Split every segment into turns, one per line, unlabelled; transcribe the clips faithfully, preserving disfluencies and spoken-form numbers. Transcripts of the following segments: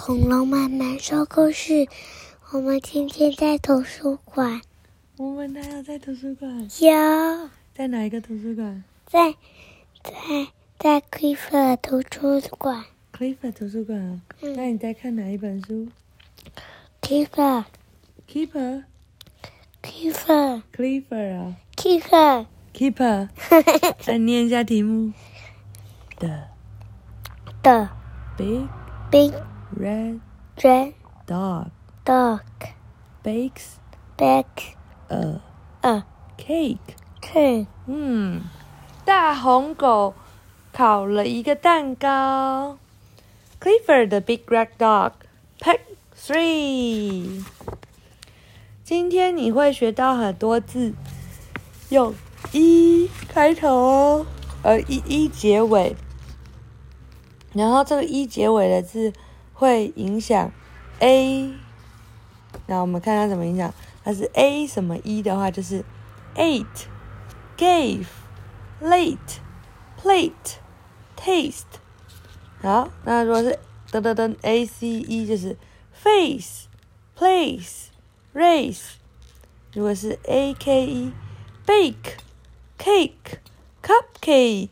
恐龙妈妈说故事。我们今天在图书馆。
我们还有在图书馆？
有。
在哪一个图书馆？
在在在 Clifford 图书馆。
Clifford 图书馆啊、哦嗯？那你在看哪一本书
？Clifford。
Keeper。
Clifford。
Clifford 啊。
Clifford。
Keeper。再念一下题目。The
The
big
big
red
red
dog
dog
bakes
bakes
a
a
cake.
cake.
嗯，大红狗烤了一个蛋糕。Clifford the big red dog Part three. 今天你会学到很多字，用一开头哦，呃一一结尾。然后这个一结尾的字会影响 A， 那我们看它怎么影响。它是 A 什么一的话，就是 ate, gave, late, plate, taste。好，那如果是噔噔噔 A C E 就是 face, place, race。如果是 A K E bake, cake, cupcake,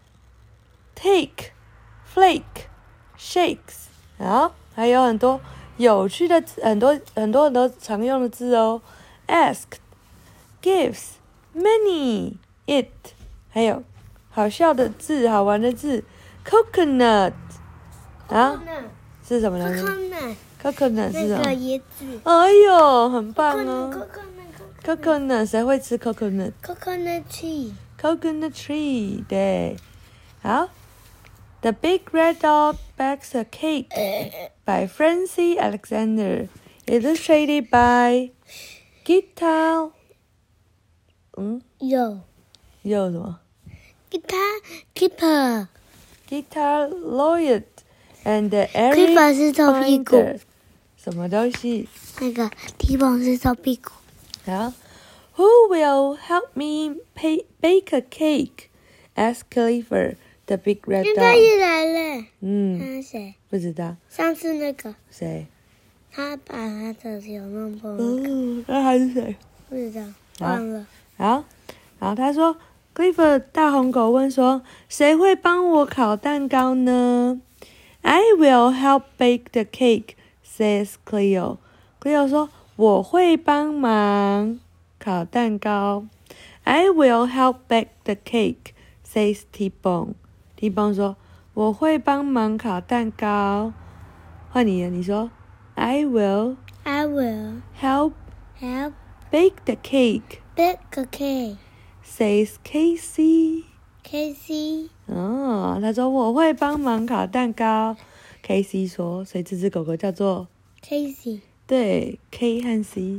take。Flake, shakes， 好，还有很多有趣的字，很多很多很多常用的字哦。Asked, gives, many, it， 还有好笑的字，好玩的字 ，coconut， 啊，是什么来着 ？coconut 是什么？
那个椰子。
哎呦，很棒哦
！coconut，coconut，coconut，
谁会吃 coconut？coconut
tree，coconut
tree， 对，好。The Big Red Dog Bakes a Cake by Francie Alexander, illustrated by Guitar. 嗯，
有
有什么
？Guitar Keeper.
Guitar Lloyd and Eric
Keeper 是照屁股。
什么东西？
那个 T-bone 是照屁股。
好 ，Who will help me pay, bake a cake? Asked Clifford.The big red dog.
现在也来了。
嗯，
他是谁？
不知道。
上次那个
谁？
他把他的手弄破。
哦，那他是谁？
不知道，忘了。
好，然后他说 ，Clifford 大红狗问说，谁会帮我烤蛋糕呢 ？I will help bake the cake, says Cleo. Cleo 说，我会帮忙烤蛋糕。I will help bake the cake, says T-bone.T-bone 说：“我会帮忙烤蛋糕。”换你了，你说 ：“I will,
I will
help,
help
bake the cake,
bake a cake.
says Casey.
Casey
哦，他说我会帮忙烤蛋糕。Casey 说，所以这只狗狗叫做
Casey。
对 ，K 和 C。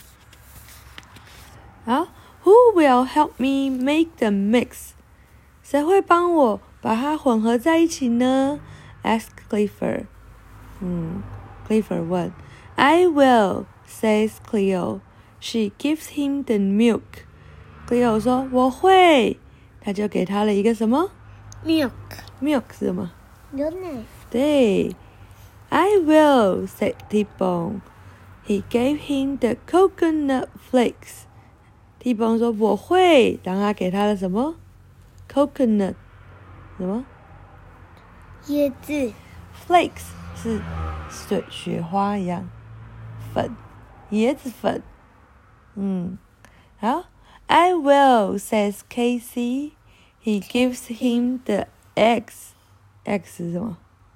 好 ，Who will help me make the mix？ 谁会帮我把它混合在一起呢 ？Ask Clifford。嗯 ，Clifford 问。I will, says Cleo. She gives him the milk. Cleo 说我会，他就给他了一个什么
？Milk。
Milk 是什么？
牛奶。
对。I will, said T-bone. He gave him the coconut flakes. T-bone 说我会，然后他给他了什么？Coconut 什么？
椰子。
Flakes 是水雪花一样，粉，椰子粉。嗯，好。I will, says Casey. He gives him the eggs. Eggs 是什么？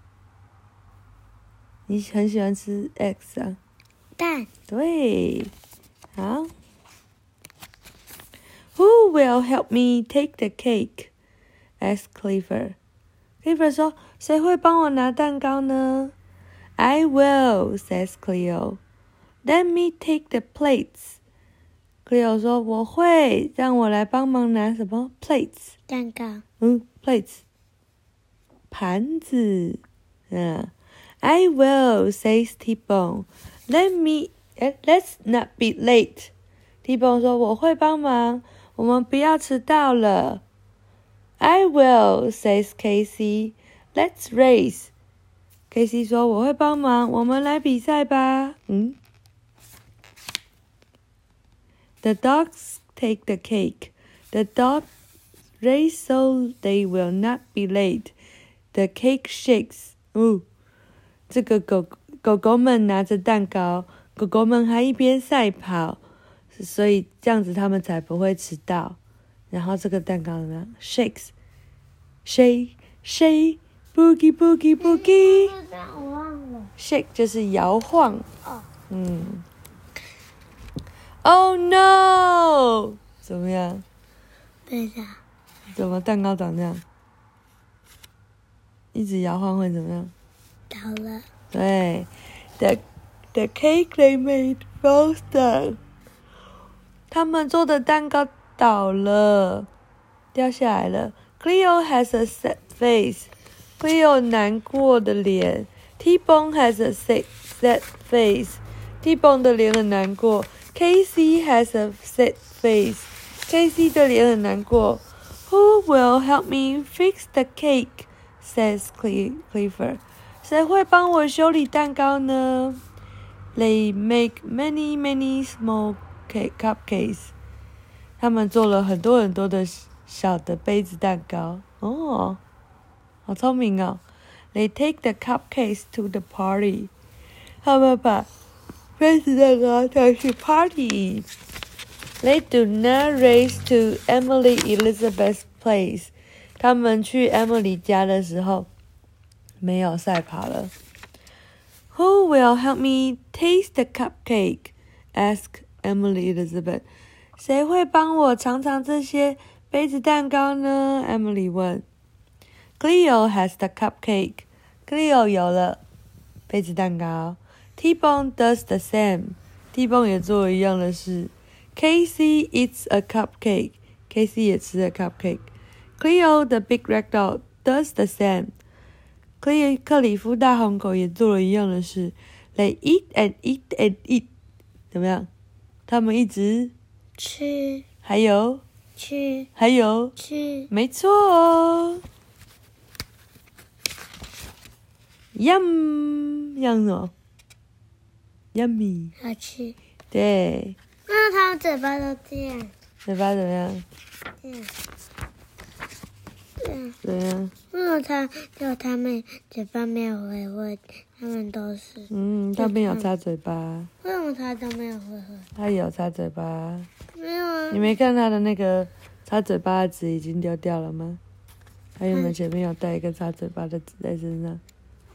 你很喜欢吃 eggs 啊？
蛋。
对，好。Who will help me take the cake? Asked Clifford. Clifford 说：“谁会帮我拿蛋糕呢 ？”I will, says Cleo. Let me take the plates. Cleo 说：“我会，让我来帮忙拿什么 plates？”
蛋糕。
嗯 ，plates， 盘子。嗯 ，I will, says T-bone. Let me, let's not be late. T-bone 说：“我会帮忙。”我们不要迟到了。I will, says Casey. Let's race. Casey 说我会帮忙，我们来比赛吧。嗯。The dogs take the cake. The dogs race so they will not be late. The cake shakes. 哦，这个狗狗狗们拿着蛋糕，狗狗们还一边赛跑，所以这样子他们才不会迟到。然后这个蛋糕怎么样 ？Shakes, shake, shake, boogie, boogie, boogie.
我忘了。
Shake 就是摇晃。
哦。
嗯。Oh no！ 怎么样？
对的。
怎么蛋糕长这样？一直摇晃会怎么样？
倒了。
对 ，the the cake they made falls down。他们做的蛋糕倒了，掉下来了。Cleo has a sad face。Cleo 难过的脸。T-Bone has a sad sad face。T-Bone 的脸很难过。Casey has a sad face. Casey 的脸很难过。Who will help me fix the cake? Says Clifford. 谁会帮我修理蛋糕呢 ？They make many, many small cake cupcakes. 他们做了很多很多的小的杯子蛋糕。哦，好聪明哦。They take the cupcakes to the party. 他们把杯子蛋糕带去 party. They do not race to Emily Elizabeth's place. 他们去 Emily 家的时候没有赛跑了。Who will help me taste the cupcake? Asked Emily Elizabeth. 谁会帮我尝尝这些杯子蛋糕呢 ？Emily 问。Cleo has the cupcake. Cleo 有了杯子蛋糕。T-Bone does the same. T-Bone 也做了一样的事。Casey eats a cupcake. Casey 也吃了 cupcake. Cleo, the big red dog, does the same. 克里夫大红狗也做了一样的事。They eat and eat and eat. 怎么样？他们一直
吃。
还有
吃。
还有
吃。
没错哦。Yum， yum 什么 ？Yummy。
好吃。
对。
那他们嘴巴都这样。
嘴巴怎么样？
这样。这样。
怎么样？
为什么他就他们嘴巴没有回味？他们都是。
嗯，他没有擦嘴巴。
为什么他都没有回味？
他有擦嘴巴。
没有啊。
你没看他的那个擦嘴巴的纸已经丢掉了吗？他原本前面有带一个擦嘴巴的纸在身上。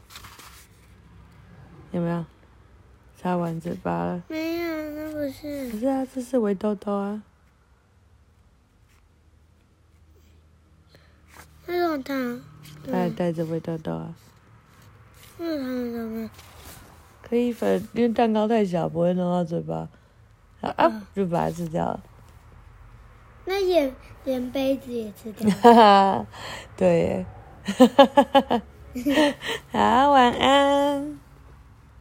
有没有？擦完嘴巴了？
没有，那不是。
可是啊，这是围兜兜啊。
为什么他？
他还带着围兜兜啊。
为什么他们都没有？
可以粉，因为蛋糕太小，不会弄到嘴巴，啊，啊就把它吃掉了。
那也连杯子也吃掉了。
哈哈，对耶。好，晚安。